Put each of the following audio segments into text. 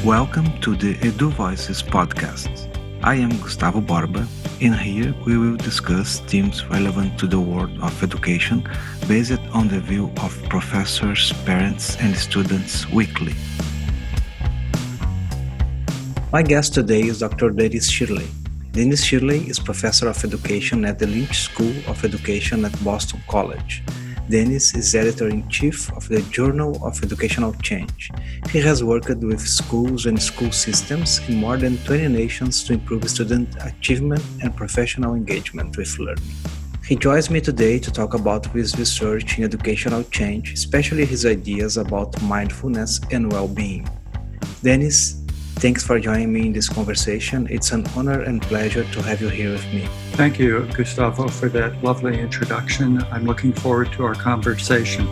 Welcome to the Edu Voices podcast. I am Gustavo Borba, and here we will discuss themes relevant to the world of education based on the view of professors, parents, and students weekly. My guest today is Dr. Dennis Shirley. Dennis Shirley is Professor of Education at the Lynch School of Education at Boston College. Dennis is Editor-in-Chief of the Journal of Educational Change. He has worked with schools and school systems in more than 20 nations to improve student achievement and professional engagement with learning. He joins me today to talk about his research in educational change, especially his ideas about mindfulness and well-being. Dennis, thanks for joining me in this conversation. It's an honor and pleasure to have you here with me. Thank you, Gustavo, for that lovely introduction. I'm looking forward to our conversation.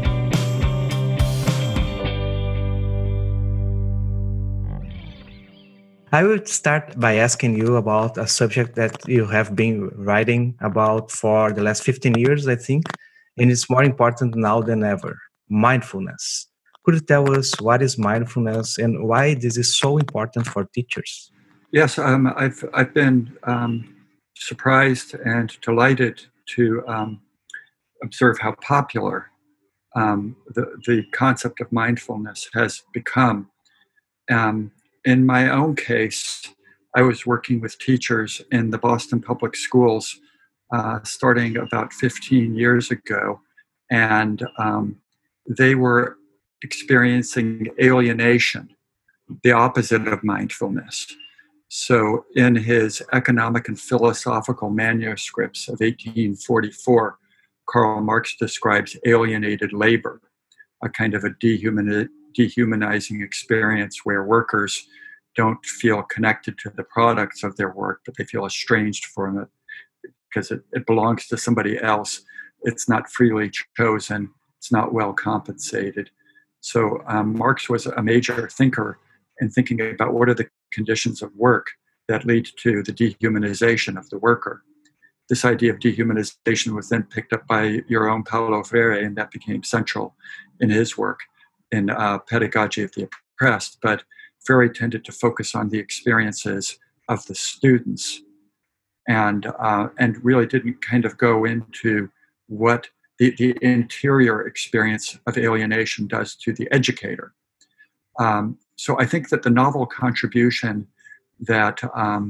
I will start by asking you about a subject that you have been writing about for the last 15 years, I think, and it's more important now than ever, mindfulness. Could you tell us what is mindfulness and why this is so important for teachers? Yes, I've been surprised and delighted to observe how popular the concept of mindfulness has become. In my own case, I was working with teachers in the Boston Public Schools starting about 15 years ago, and they were experiencing alienation, the opposite of mindfulness. So, in his economic and philosophical manuscripts of 1844, Karl Marx describes alienated labor, a kind of a dehumanizing experience where workers don't feel connected to the products of their work, but they feel estranged from it because it belongs to somebody else. It's not freely chosen. It's not well compensated. So Marx was a major thinker in thinking about what are the conditions of work that lead to the dehumanization of the worker. This idea of dehumanization was then picked up by your own Paulo Freire, and that became central in his work in Pedagogy of the Oppressed. But Freire tended to focus on the experiences of the students and really didn't kind of go into what the interior experience of alienation does to the educator. So I think that the novel contribution that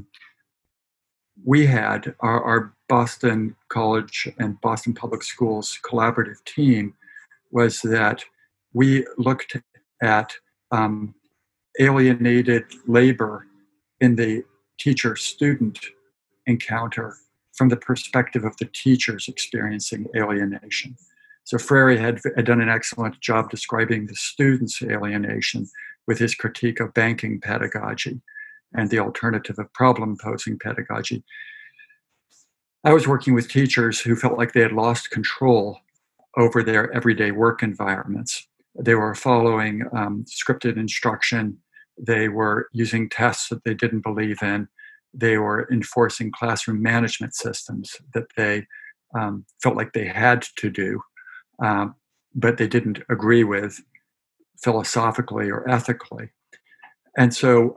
we had, our Boston College and Boston Public Schools collaborative team, was that we looked at alienated labor in the teacher-student encounter from the perspective of the teachers experiencing alienation. So Freire had done an excellent job describing the students' alienation with his critique of banking pedagogy and the alternative of problem-posing pedagogy. I was working with teachers who felt like they had lost control over their everyday work environments. They were following scripted instruction. They were using tests that they didn't believe in. They were enforcing classroom management systems that they felt like they had to do, but they didn't agree with philosophically or ethically. And so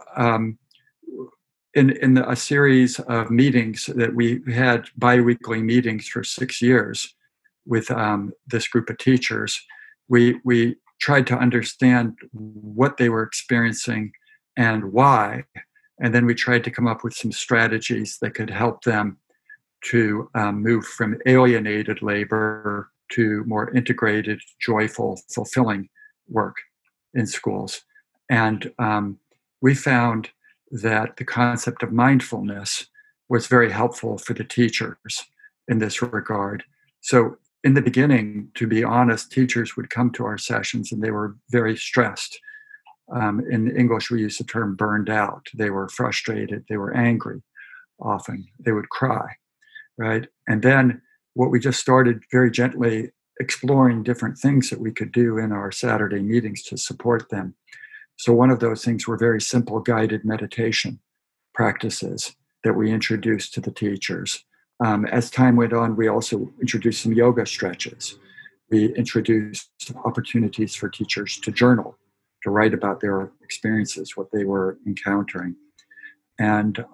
in a series of meetings that we had, bi-weekly meetings for 6 years with this group of teachers, we tried to understand what they were experiencing and why. And then we tried to come up with some strategies that could help them to move from alienated labor to more integrated, joyful, fulfilling work in schools. And we found that the concept of mindfulness was very helpful for the teachers in this regard. So in the beginning, to be honest, teachers would come to our sessions and they were very stressed. In English, we use the term burned out. They were frustrated. They were angry often. They would cry, right? And then what we just started very gently exploring different things that we could do in our Saturday meetings to support them. So one of those things were very simple guided meditation practices that we introduced to the teachers. As time went on, we also introduced some yoga stretches. We introduced opportunities for teachers to journal write about their experiences, what they were encountering. And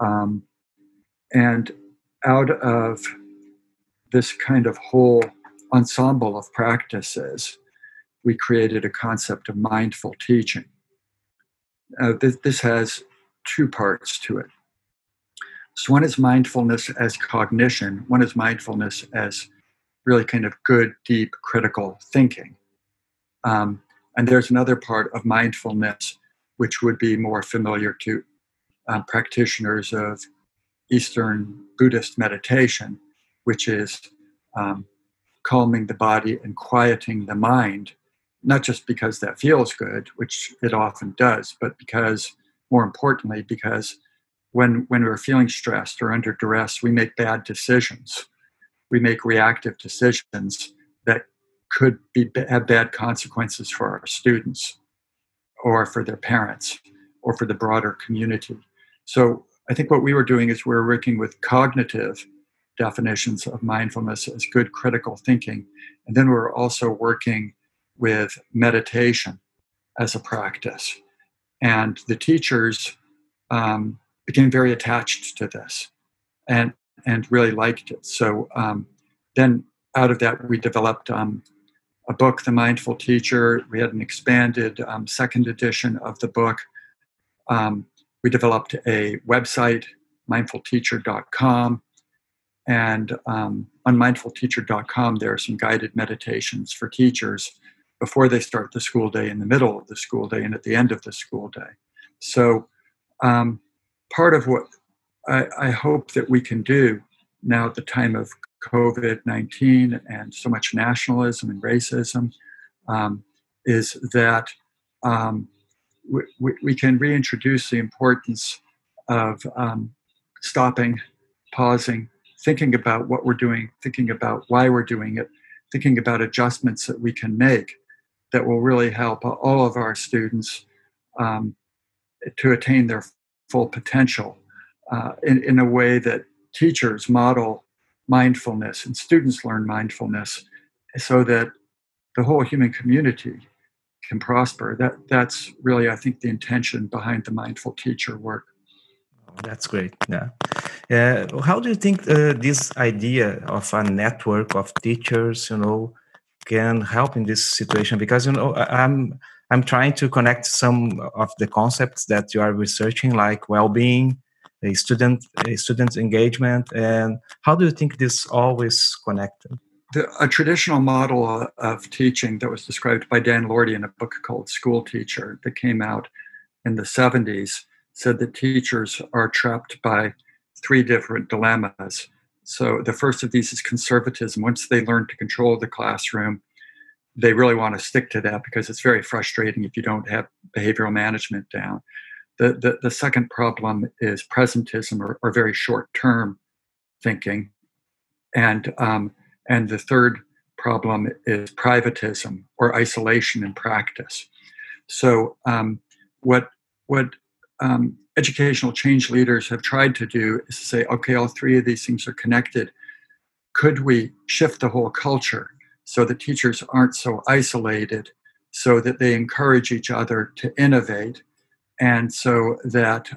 out of this kind of whole ensemble of practices, we created a concept of mindful teaching. This has two parts to it. So one is mindfulness as cognition. One is mindfulness as really kind of good, deep, critical thinking. And there's another part of mindfulness which would be more familiar to practitioners of Eastern Buddhist meditation, which is calming the body and quieting the mind, not just because that feels good, which it often does, but because, more importantly, because when we're feeling stressed or under duress, we make bad decisions. We make reactive decisions that could have bad consequences for our students or for their parents or for the broader community. So I think what we were doing is we were working with cognitive definitions of mindfulness as good critical thinking. And then we were also working with meditation as a practice. And the teachers became very attached to this and really liked it. So then out of that, we developed a book, The Mindful Teacher. We had an expanded second edition of the book. We developed a website, mindfulteacher.com. And on mindfulteacher.com, there are some guided meditations for teachers before they start the school day, in the middle of the school day, and at the end of the school day. So part of what I hope that we can do now at the time of COVID-19 and so much nationalism and racism is that we can reintroduce the importance of stopping, pausing, thinking about what we're doing, thinking about why we're doing it, thinking about adjustments that we can make that will really help all of our students to attain their full potential in a way that teachers model mindfulness and students learn mindfulness so that the whole human community can prosper. That's really, I think, the intention behind the Mindful Teacher work. That's great. Yeah. How do you think this idea of a network of teachers, can help in this situation? Because I'm trying to connect some of the concepts that you are researching, like well-being, student engagement, and how do you think this all is connected? A traditional model of teaching that was described by Dan Lorty in a book called School Teacher that came out in the 70s said that teachers are trapped by three different dilemmas. So the first of these is conservatism. Once they learn to control the classroom, they really want to stick to that because it's very frustrating if you don't have behavioral management down. The second problem is presentism or very short-term thinking. And the third problem is privatism or isolation in practice. So what educational change leaders have tried to do is to say, okay, all three of these things are connected. Could we shift the whole culture so that teachers aren't so isolated, so that they encourage each other to innovate, and so that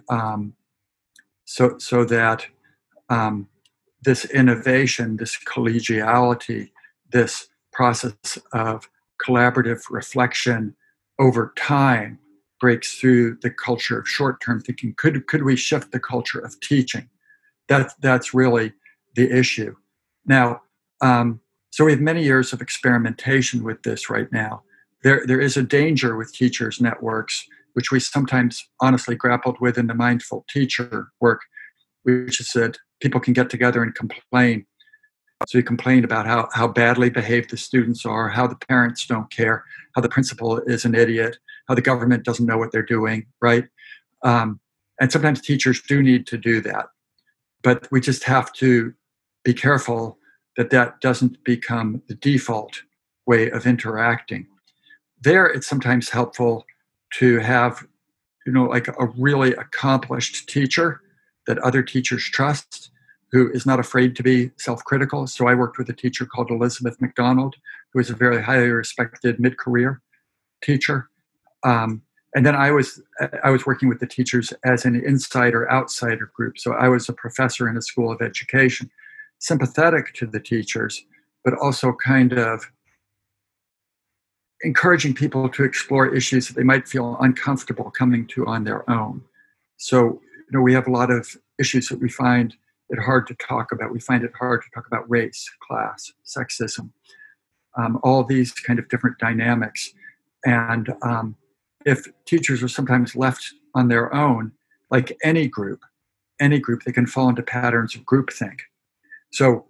this innovation, this collegiality, this process of collaborative reflection over time breaks through the culture of short-term thinking. Could we shift the culture of teaching? That's really the issue. Now, so we have many years of experimentation with this right now. There is a danger with teachers' networks, which we sometimes honestly grappled with in the Mindful Teacher work, which is that people can get together and complain. So you complain about how badly behaved the students are, how the parents don't care, how the principal is an idiot, how the government doesn't know what they're doing, right? And sometimes teachers do need to do that. But we just have to be careful that doesn't become the default way of interacting. There, it's sometimes helpful to have, like a really accomplished teacher that other teachers trust, who is not afraid to be self-critical. So I worked with a teacher called Elizabeth McDonald, who is a very highly respected mid-career teacher. And then I was working with the teachers as an insider-outsider group. So I was a professor in a school of education, sympathetic to the teachers, but also kind of encouraging people to explore issues that they might feel uncomfortable coming to on their own. So, we have a lot of issues that we find it hard to talk about. We find it hard to talk about race, class, sexism, all these kind of different dynamics. And if teachers are sometimes left on their own, like any group, they can fall into patterns of groupthink. So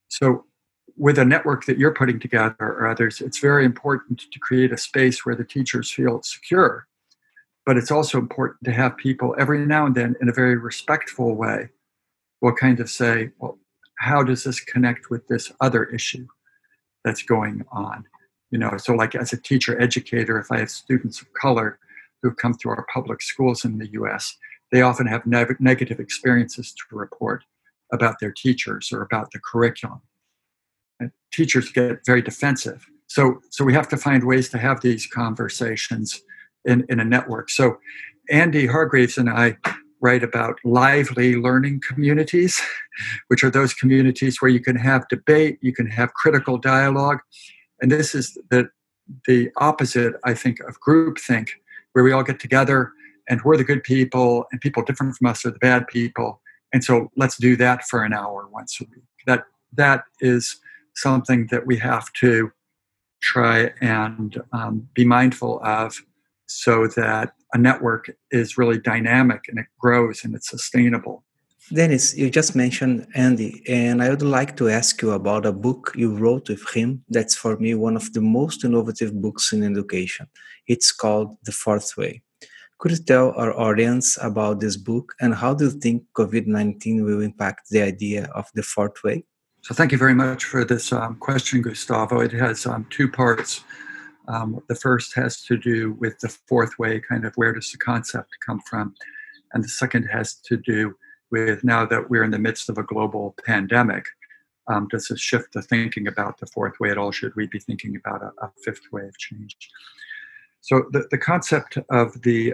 with a network that you're putting together or others, it's very important to create a space where the teachers feel secure. But it's also important to have people every now and then, in a very respectful way, will kind of say, well, how does this connect with this other issue that's going on? So like as a teacher educator, if I have students of color who've come through our public schools in the US, they often have negative experiences to report about their teachers or about the curriculum. And teachers get very defensive. So we have to find ways to have these conversations in a network. So Andy Hargreaves and I write about lively learning communities, which are those communities where you can have debate, you can have critical dialogue. And this is the opposite, I think, of groupthink, where we all get together and we're the good people and people different from us are the bad people. And so let's do that for an hour once a week. That is something that we have to try and be mindful of, so that a network is really dynamic and it grows and it's sustainable. Dennis, you just mentioned Andy, and I would like to ask you about a book you wrote with him that's for me one of the most innovative books in education. It's called The Fourth Way. Could you tell our audience about this book and how do you think COVID-19 will impact the idea of the fourth way? So thank you very much for this question, Gustavo. It has two parts. The first has to do with the fourth way, kind of where does the concept come from? And the second has to do with, now that we're in the midst of a global pandemic, does this shift the thinking about the fourth way at all? Should we be thinking about a fifth way of change? So the concept of the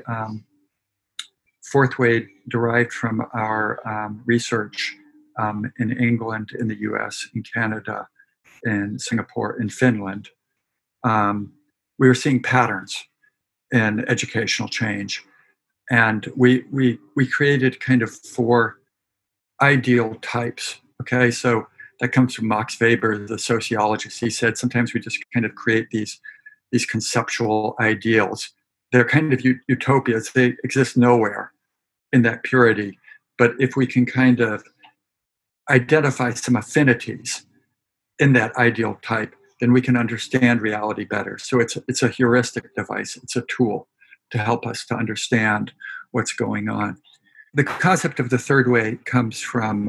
fourth way derived from our research in England, in the US, in Canada, in Singapore, in Finland. We were seeing patterns in educational change. And we created kind of 4 ideal types. Okay, so that comes from Max Weber, the sociologist. He said sometimes we just kind of create these conceptual ideals. They're kind of utopias. They exist nowhere in that purity. But if we can kind of identify some affinities in that ideal type, then we can understand reality better. So it's a heuristic device. It's a tool to help us to understand what's going on. The concept of the third way comes from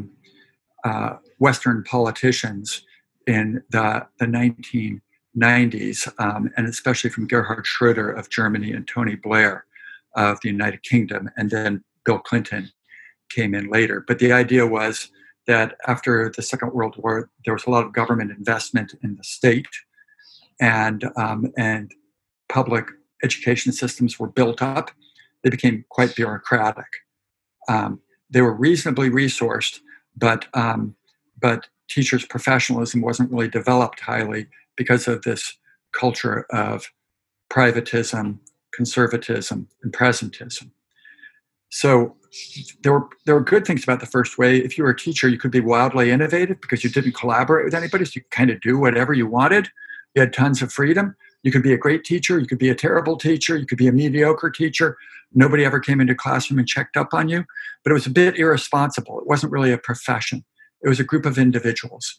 Western politicians in the 1990s, and especially from Gerhard Schroeder of Germany and Tony Blair of the United Kingdom, and then Bill Clinton came in later. But the idea was that after the Second World War, there was a lot of government investment in the state, and public education systems were built up. They became quite bureaucratic. They were reasonably resourced, but teachers' professionalism wasn't really developed highly because of this culture of privatism, conservatism, and presentism. So there were good things about the first way. If you were a teacher, you could be wildly innovative because you didn't collaborate with anybody, so you could kind of do whatever you wanted. You had tons of freedom. You could be a great teacher. You could be a terrible teacher. You could be a mediocre teacher. Nobody ever came into a classroom and checked up on you. But it was a bit irresponsible. It wasn't really a profession. It was a group of individuals.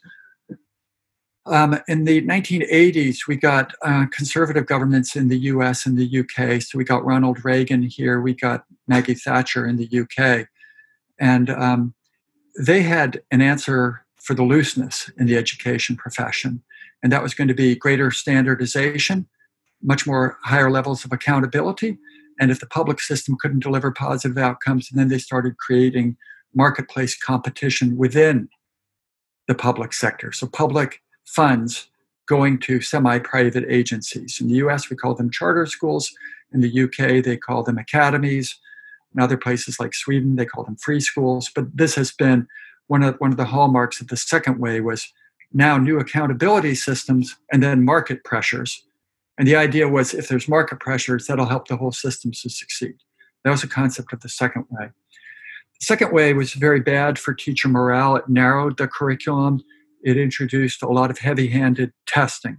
In the 1980s, we got conservative governments in the US and the UK. So we got Ronald Reagan here. We got Maggie Thatcher in the UK. And they had an answer for the looseness in the education profession. And that was going to be greater standardization, much more higher levels of accountability. And if the public system couldn't deliver positive outcomes, then they started creating marketplace competition within the public sector. So public funds going to semi-private agencies. In the US, we call them charter schools. In the UK, they call them academies. In other places like Sweden, they call them free schools. But this has been one of the hallmarks of the second way was now new accountability systems and then market pressures. And the idea was if there's market pressures, that'll help the whole system to succeed. That was a concept of the second way. The second way was very bad for teacher morale. It narrowed the curriculum. It introduced a lot of heavy-handed testing.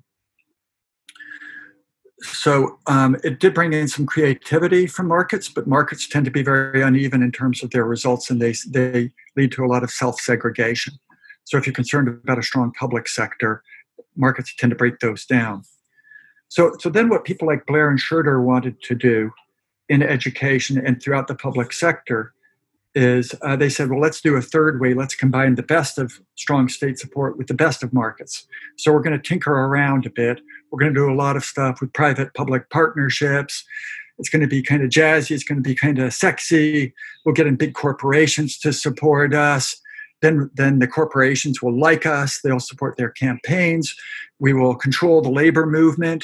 So it did bring in some creativity from markets, but markets tend to be very uneven in terms of their results, and they lead to a lot of self-segregation. So if you're concerned about a strong public sector, markets tend to break those down. So then what people like Blair and Schroeder wanted to do in education and throughout the public sector is they said, well, let's do a third way. Let's combine the best of strong state support with the best of markets. So we're going to tinker around a bit. We're going to do a lot of stuff with private-public partnerships. It's going to be kind of jazzy. It's going to be kind of sexy. We'll get in big corporations to support us. Then the corporations will like us. They'll support their campaigns. We will control the labor movement.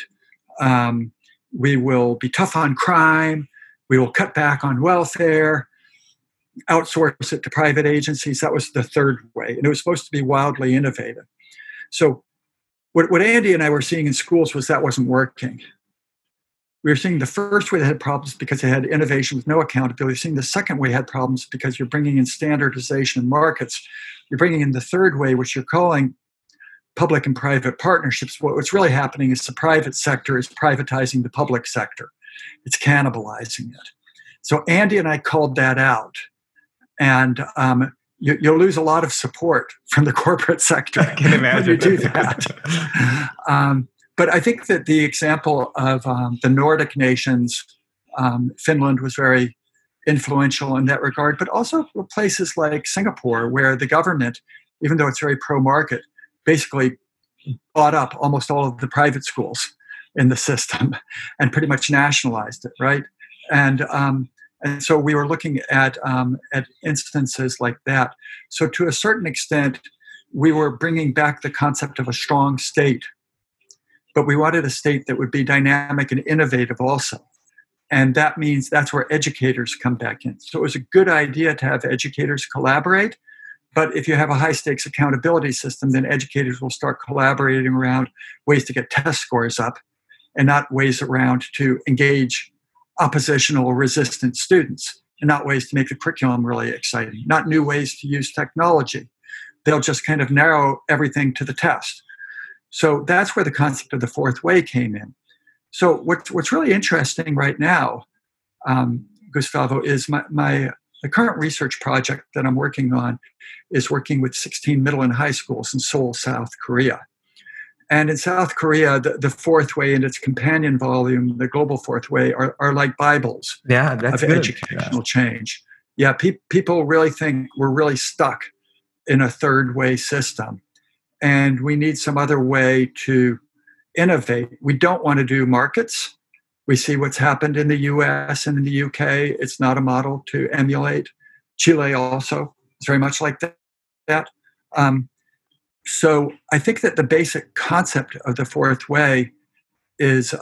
We will be tough on crime. We will cut back on welfare. Outsource it to private agencies. That was the third way. And it was supposed to be wildly innovative. So what Andy and I were seeing in schools was that wasn't working. We were seeing the first way that had problems because it had innovation with no accountability. We're seeing the second way had problems because you're bringing in standardization in markets. You're bringing in the third way, which you're calling public and private partnerships. What's really happening is the private sector is privatizing the public sector. It's cannibalizing it. So Andy and I called that out. And you'll lose a lot of support from the corporate sector I can imagine. when you do that. But I think that the example of the Nordic nations, Finland was very influential in that regard, but also places like Singapore, where the government, even though it's very pro-market, basically bought up almost all of the private schools in the system and pretty much nationalized it, right? And so we were looking at instances like that. So to a certain extent, we were bringing back the concept of a strong state, but we wanted a state that would be dynamic and innovative also. And that means that's where educators come back in. So it was a good idea to have educators collaborate, but if you have a high-stakes accountability system, then educators will start collaborating around ways to get test scores up and not ways around to engage oppositional or resistant students, and not ways to make the curriculum really exciting, not new ways to use technology. They'll just kind of narrow everything to the test. So that's where the concept of the fourth way came in. So what's really interesting right now, Gustavo, is the current research project that I'm working on is working with 16 middle and high schools in Seoul, South Korea. And in South Korea, the fourth way and its companion volume, the global fourth way, are like Bibles of good. Educational change. Yeah, people really think we're really stuck in a third way system. And we need some other way to innovate. We don't want to do markets. We see what's happened in the US and in the UK. It's not a model to emulate. Chile also is very much like that. So I think that the basic concept of the fourth way is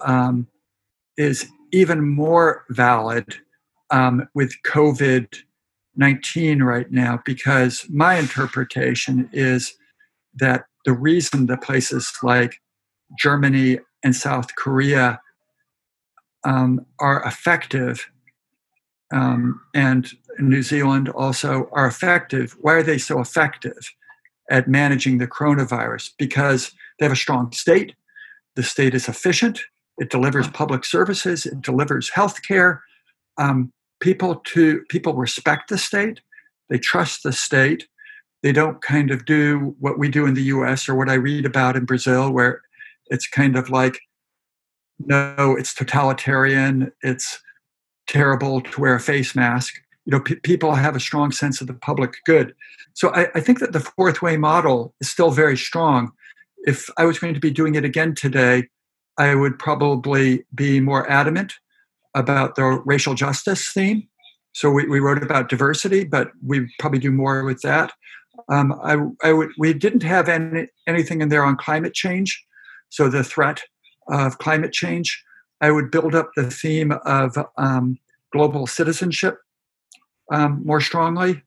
even more valid with COVID-19 right now, because my interpretation is that the reason that places like Germany and South Korea are effective, and New Zealand also are effective. Why are they so effective at managing the coronavirus? Because they have a strong state. The state is efficient. It delivers public services. It delivers healthcare. People respect the state. They trust the state. They don't kind of do what we do in the U.S. or what I read about in Brazil, where it's kind of like, no, it's totalitarian. It's terrible to wear a face mask. People have a strong sense of the public good. So I think that the fourth way model is still very strong. If I was going to be doing it again today, I would probably be more adamant about the racial justice theme. So we wrote about diversity, but we probably do more with that. We didn't have anything in there on climate change. So the threat of climate change, I would build up the theme of global citizenship more strongly.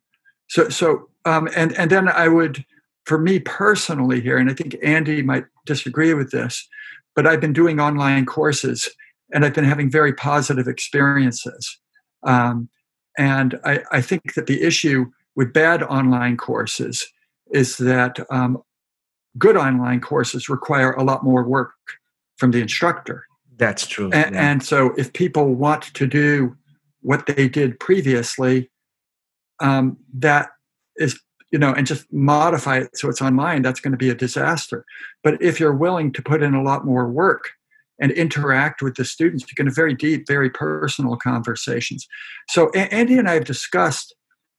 And then I would, for me personally here, and I think Andy might disagree with this, but I've been doing online courses and I've been having very positive experiences. And I think that the issue with bad online courses is that good online courses require a lot more work from the instructor. That's true. And so if people want to do what they did previously, that is, and just modify it so it's online, that's going to be a disaster. But if you're willing to put in a lot more work and interact with the students, you can have very deep, very personal conversations. So Andy and I have discussed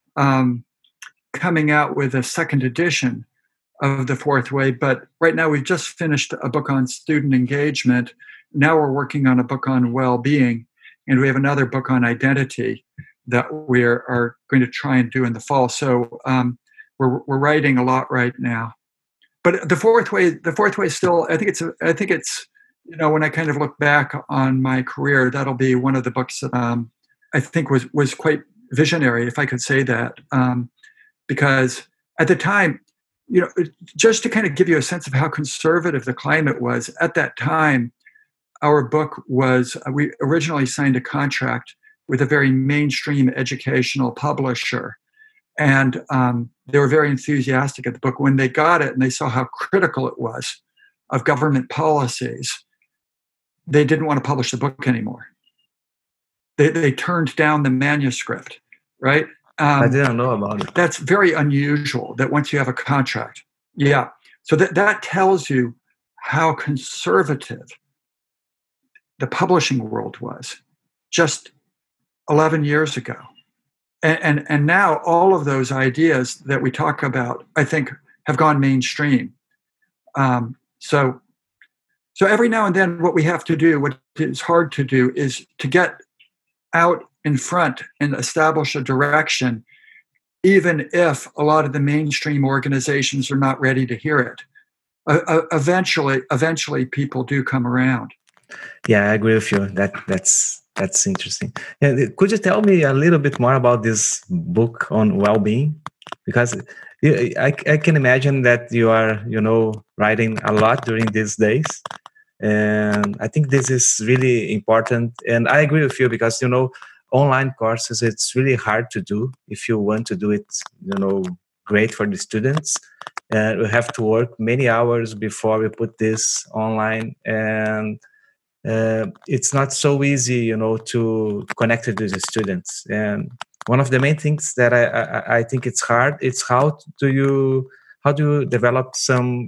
coming out with a second edition of The Fourth Way, but right now we've just finished a book on student engagement. Now we're working on a book on well-being, and we have another book on identity that we are going to try and do in the fall. So we're writing a lot right now. But the fourth way still, I think it's when I kind of look back on my career, that'll be one of the books that I think was quite visionary, if I could say that, because at the time, just to kind of give you a sense of how conservative the climate was at that time, our book was, we originally signed a contract with a very mainstream educational publisher. And they were very enthusiastic at the book. When they got it and they saw how critical it was of government policies, they didn't want to publish the book anymore. They turned down the manuscript, right? I didn't know about it. That's very unusual, that once you have a contract. Yeah. So that tells you how conservative the publishing world was just 11 years ago. And now all of those ideas that we talk about, I think, have gone mainstream. So every now and then what we have to do, what is hard to do, is to get out in front and establish a direction, even if a lot of the mainstream organizations are not ready to hear it. Eventually people do come around. Yeah, I agree with you. That's interesting. Could you tell me a little bit more about this book on well-being? Because I can imagine that you are, writing a lot during these days. And I think this is really important. And I agree with you because, online courses, it's really hard to do if you want to do it, great for the students. And we have to work many hours before we put this online. And it's not so easy, to connect with the students. And one of the main things that I think it's hard, it's how do you develop some,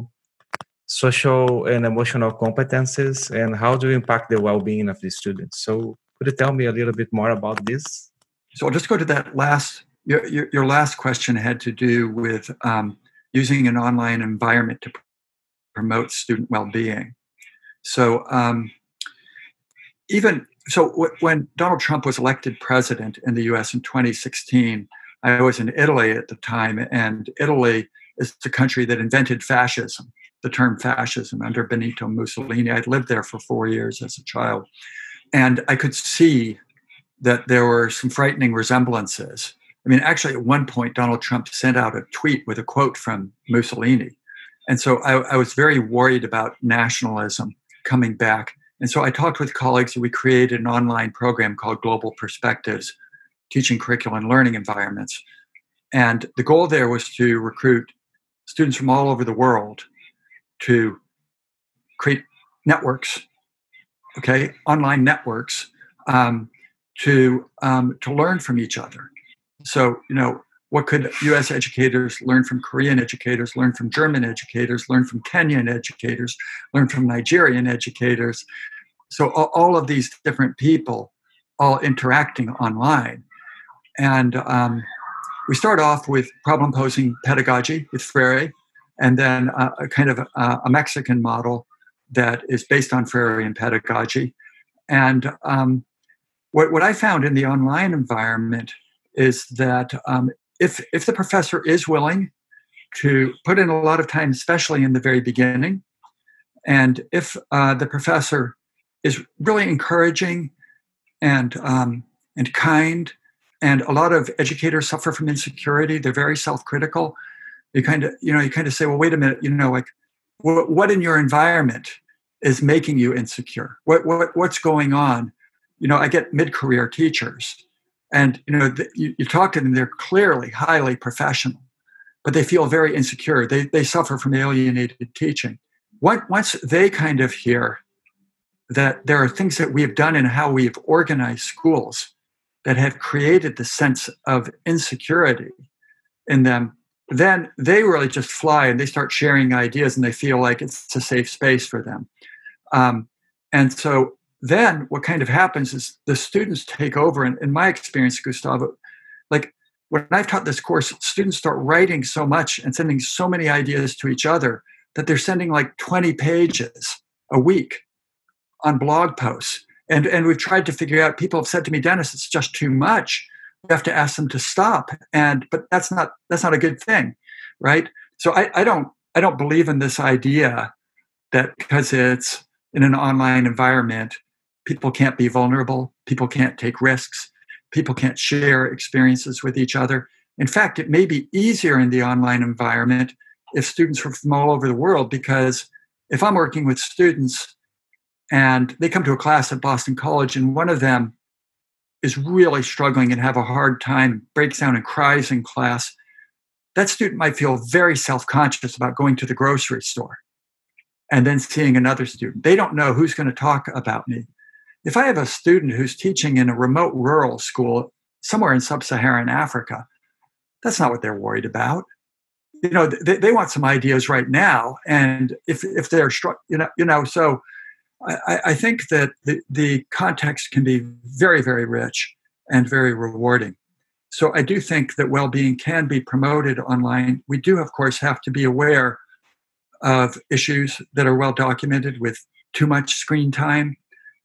social and emotional competences, and how do you impact the well-being of the students? So could you tell me a little bit more about this? So I'll just go to that your last question had to do with using an online environment to promote student well-being. So when Donald Trump was elected president in the US in 2016, I was in Italy at the time, and Italy is the country that invented fascism, the term fascism, under Benito Mussolini. I'd lived there for 4 years as a child, and I could see that there were some frightening resemblances. I mean, actually, at one point, Donald Trump sent out a tweet with a quote from Mussolini. And so I was very worried about nationalism coming back. And so I talked with colleagues, and we created an online program called Global Perspectives, teaching curriculum and learning environments. And the goal there was to recruit students from all over the world to create networks, online networks, to learn from each other. So, what could U.S. educators learn from Korean educators, learn from German educators, learn from Kenyan educators, learn from Nigerian educators? So all of these different people all interacting online. And we start off with problem-posing pedagogy with Freire, and then a kind of a Mexican model that is based on Freirean pedagogy. And what I found in the online environment is that if the professor is willing to put in a lot of time, especially in the very beginning, and if the professor is really encouraging and kind. And a lot of educators suffer from insecurity. They're very self-critical. You kind of say, well, wait a minute, like what in your environment is making you insecure? What's going on? I get mid-career teachers, and you talk to them. They're clearly highly professional, but they feel very insecure. They suffer from alienated teaching. Once they kind of hear that there are things that we have done in how we've organized schools that have created the sense of insecurity in them, then they really just fly and they start sharing ideas and they feel like it's a safe space for them. And so then what kind of happens is the students take over. And in my experience, Gustavo, like when I've taught this course, students start writing so much and sending so many ideas to each other that they're sending like 20 pages a week on blog posts. And we've tried to figure out, people have said to me, Dennis, it's just too much. We have to ask them to stop. But that's not a good thing, right? So I don't believe in this idea that because it's in an online environment, people can't be vulnerable, people can't take risks, people can't share experiences with each other. In fact, it may be easier in the online environment if students are from all over the world, because if I'm working with students and they come to a class at Boston College and one of them is really struggling and have a hard time, breaks down and cries in class, that student might feel very self-conscious about going to the grocery store and then seeing another student. They don't know who's going to talk about me. If I have a student who's teaching in a remote rural school somewhere in sub-Saharan Africa, that's not what they're worried about. They want some ideas right now. And if they're so I think that the context can be very, very rich and very rewarding. So I do think that well-being can be promoted online. We do, of course, have to be aware of issues that are well documented with too much screen time,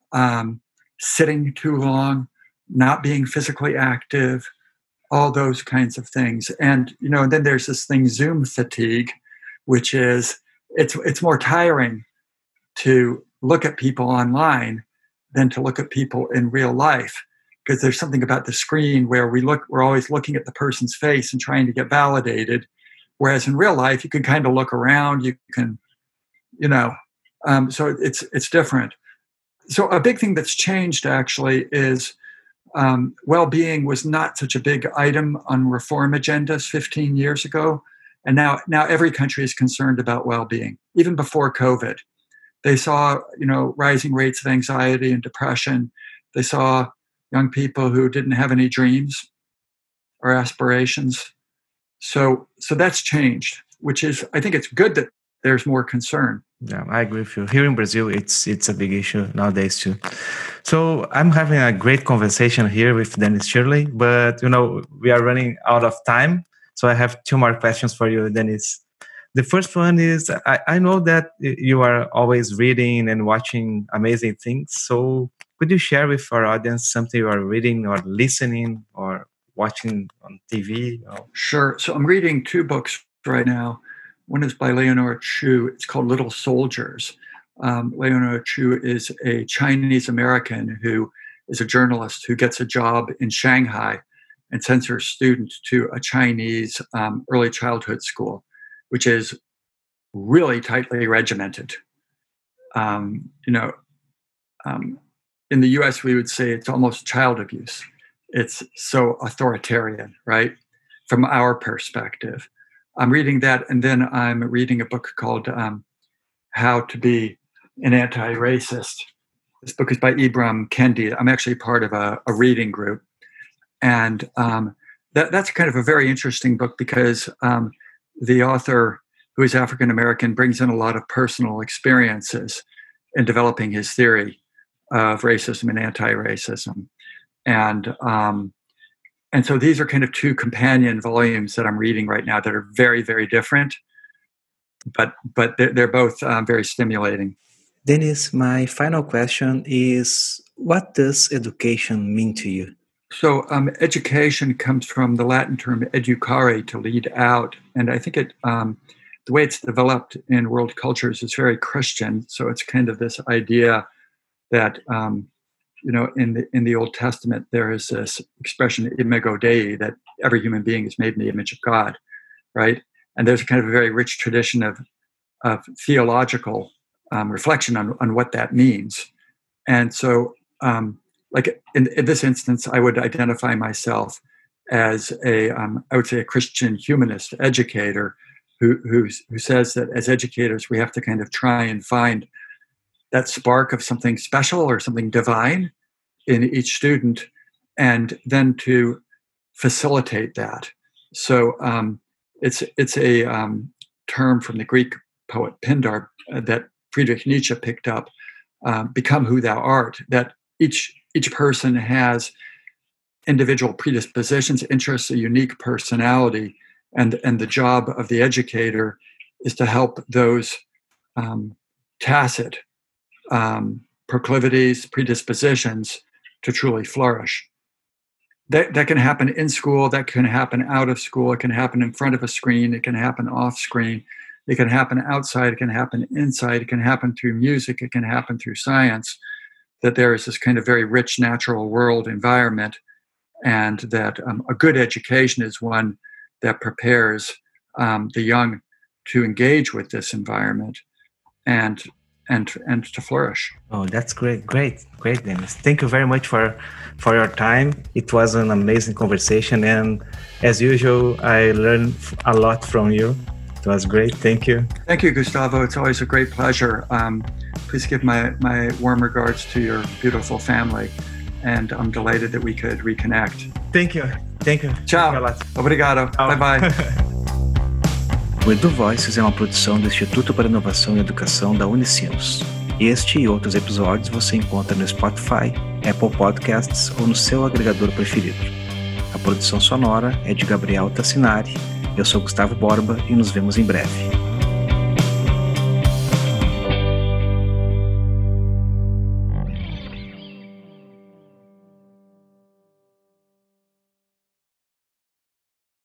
sitting too long, not being physically active, all those kinds of things. And then there's this thing, Zoom fatigue, which is it's more tiring to look at people online than to look at people in real life, because there's something about the screen where we're always looking at the person's face and trying to get validated, whereas in real life you can kind of look around, you can so it's different. So a big thing that's changed actually is well-being was not such a big item on reform agendas 15 years ago, and now every country is concerned about well-being. Even before COVID, they saw rising rates of anxiety and depression. They saw young people who didn't have any dreams or aspirations. So that's changed, which is, I think it's good that there's more concern. Yeah, I agree with you. Here in Brazil, it's a big issue nowadays too. So I'm having a great conversation here with Dennis Shirley, but we are running out of time. So I have two more questions for you, Dennis. The first one is, I know that you are always reading and watching amazing things. So could you share with our audience something you are reading or listening or watching on TV? Sure. So I'm reading two books right now. One is by Leonora Chu. It's called Little Soldiers. Leonora Chu is a Chinese American who is a journalist who gets a job in Shanghai and sends her student to a Chinese early childhood school, which is really tightly regimented. In the US, we would say it's almost child abuse. It's so authoritarian, right? From our perspective. I'm reading that, and then I'm reading a book called How to Be an Anti-Racist. This book is by Ibram Kendi. I'm actually part of a reading group. And that's kind of a very interesting book because the author, who is African-American, brings in a lot of personal experiences in developing his theory of racism and anti-racism. And so these are kind of two companion volumes that I'm reading right now that are very, very different, but they're both very stimulating. Dennis, my final question is, what does education mean to you? So education comes from the Latin term educare, to lead out. And I think the way it's developed in world cultures is very Christian. So it's kind of this idea that in the Old Testament there is this expression imago Dei, that every human being is made in the image of God, right? And there's kind of a very rich tradition of theological reflection on what that means. And so, like in this instance, I would identify myself as I would say a Christian humanist educator who says that as educators we have to kind of try and find that spark of something special or something divine in each student, and then to facilitate that. So it's a term from the Greek poet Pindar that Friedrich Nietzsche picked up. Become who thou art. That each person has individual predispositions, interests, a unique personality, and the job of the educator is to help those tacit proclivities, predispositions to truly flourish. That can happen in school, that can happen out of school, it can happen in front of a screen, it can happen off screen, it can happen outside, it can happen inside, it can happen through music, it can happen through science, that there is this kind of very rich natural world environment, and that a good education is one that prepares the young to engage with this environment and to flourish. Oh, that's great, Dennis. Thank you very much for your time. It was an amazing conversation, and as usual, I learned a lot from you. It was great. Thank you. Thank you, Gustavo. It's always a great pleasure. Please give my warm regards to your beautiful family, and I'm delighted that we could reconnect. Thank you. Ciao. Obrigado. Bye-bye. O Edu Voices é uma produção do Instituto para Inovação e Educação da Unicinos. Este e outros episódios você encontra no Spotify, Apple Podcasts ou no seu agregador preferido. A produção sonora é de Gabriel Tassinari. Eu sou Gustavo Borba e nos vemos em breve.